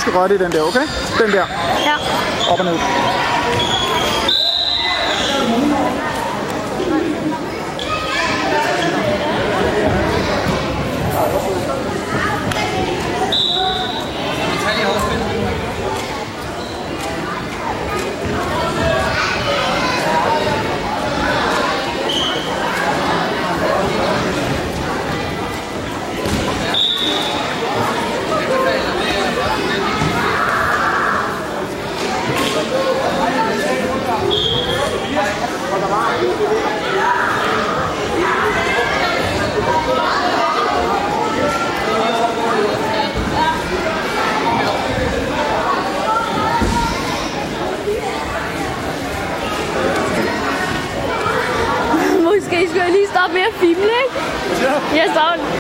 skal røre det i den der, okay? Den der. Ja. Op og ned. Måske skulle jeg lige stoppe med at filme, ikke? Ja. Jeg savner.